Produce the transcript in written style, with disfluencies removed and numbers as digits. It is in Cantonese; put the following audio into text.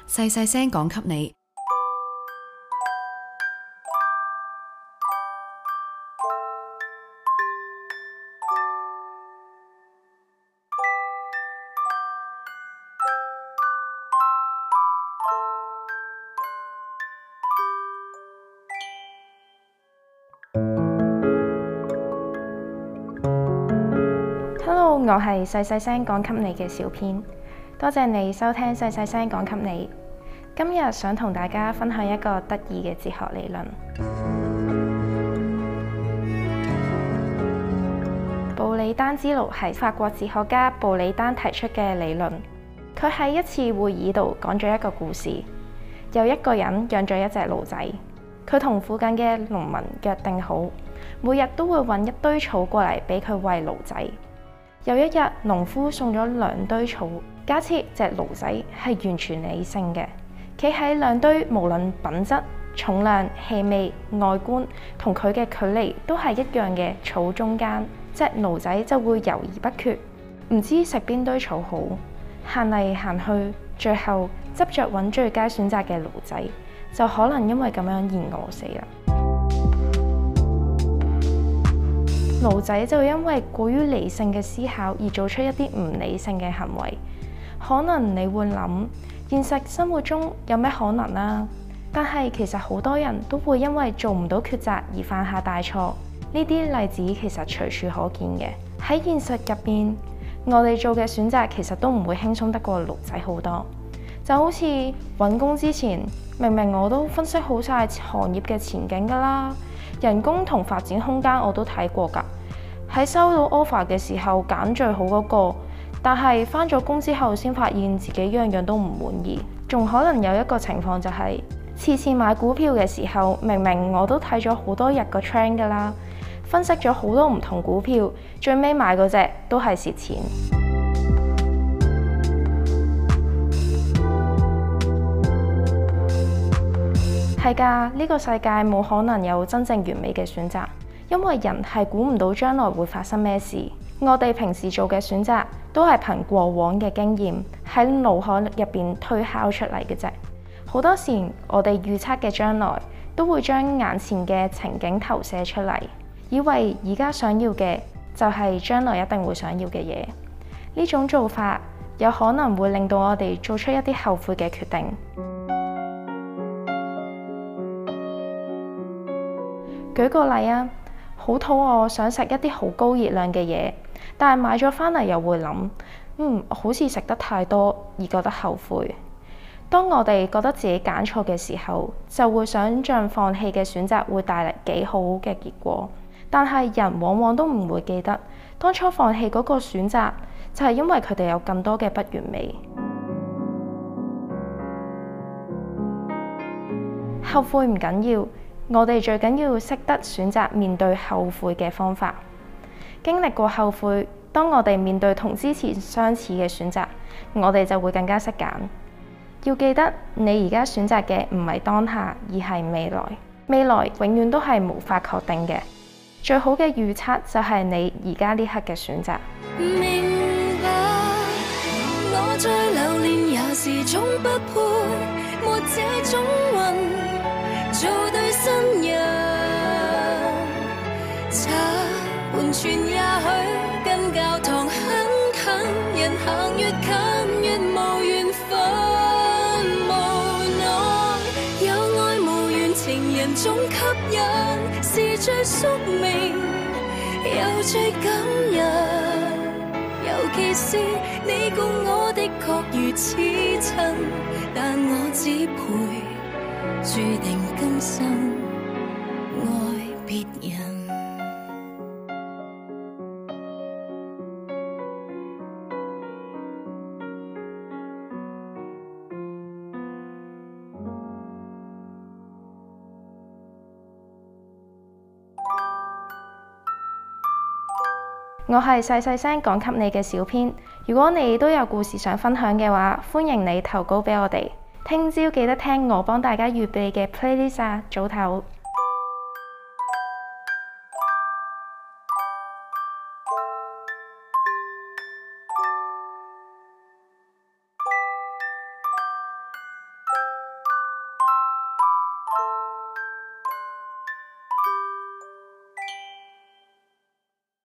細細聲講給你。 Hello， 我係細細聲講給你嘅小編，多謝你收聽細細聲講給你。今日想同大家分享一個得意嘅哲學理論。布里丹之爐係法國哲學家布里丹提出嘅理論。佢喺一次會議度講咗一個故事，有一個人養咗一隻驢仔，佢同附近嘅農民約定好，每日都會揾一堆草過嚟俾佢餵驢仔。有一日，農夫送咗2堆草，假設隻驢仔係完全理性嘅，企喺2堆無論品質、重量、氣味、外觀同佢嘅距離都係一樣嘅草中間，隻驢仔就會猶豫不決，唔知食邊堆草好，行嚟行去，最後執着揾最佳選擇嘅驢仔，就可能因為咁樣而餓死啦。驢仔就因為過於理性嘅思考而做出一啲唔理性嘅行為。可能你會諗，現實生活中有咩可能啊？但係其實好多人都會因為做唔到抉擇而犯下大錯。呢啲例子其實隨處可見嘅。喺現實入邊，我哋做嘅選擇其實都唔會輕鬆得過驢仔好多。就好似揾工之前，明明我都分析好晒行業嘅前景㗎啦。人工同發展空間我都睇過㗎，喺收到 offer 嘅時候揀最好嗰個，但係返咗工之後先發現自己樣樣都唔滿意。仲可能有一個情況就係，次次買股票嘅時候，明明我都睇咗好多日個 trend 㗎啦，分析咗好多唔同股票，最尾買嗰隻都係蝕錢。係㗎，呢個世界冇可能有真正完美嘅選擇，因為人係估唔到將來會發生咩事。我哋平時做嘅選擇都係憑過往嘅經驗喺腦海入邊推敲出嚟嘅啫。好多時我哋預測嘅將來都會將眼前嘅情景投射出嚟，以為而家想要嘅就係將來一定會想要嘅嘢。呢種做法有可能會令到我哋做出一啲後悔嘅決定。舉個例啊，好肚餓，想食一啲好高熱量嘅嘢，但係買咗返嚟又會諗，好似食得太多而覺得後悔。當我哋覺得自己揀錯嘅時候，就會想像放棄嘅選擇會帶嚟幾好嘅結果。但係人往往都唔會記得，當初放棄嗰個選擇，就係因為佢哋有更多嘅不完美。後悔唔緊要。我哋最緊要識得選擇面對後悔嘅方法。經歷過後悔，當我哋面對同之前相似嘅選擇，我哋就會更加識揀。要記得，你而家選擇嘅唔係當下，而係未來。未來永遠都係無法確定嘅。最好嘅預測就係你而家呢刻嘅選擇。 明白，我最留戀也是總不配，沒這種運。做對新人，茶盤旋也許跟教堂很近，人行越近越無緣分。無奈有愛無緣情人總吸引，是最宿命又最感人。尤其是你共我的確如此親，但我只配注定今生愛別人。 我係細細聲講給你嘅小編。如果你都有故事想分享嘅話，歡迎你投稿俾我哋。聽朝記得聽我幫大家預備嘅 playlist 啊，早唞。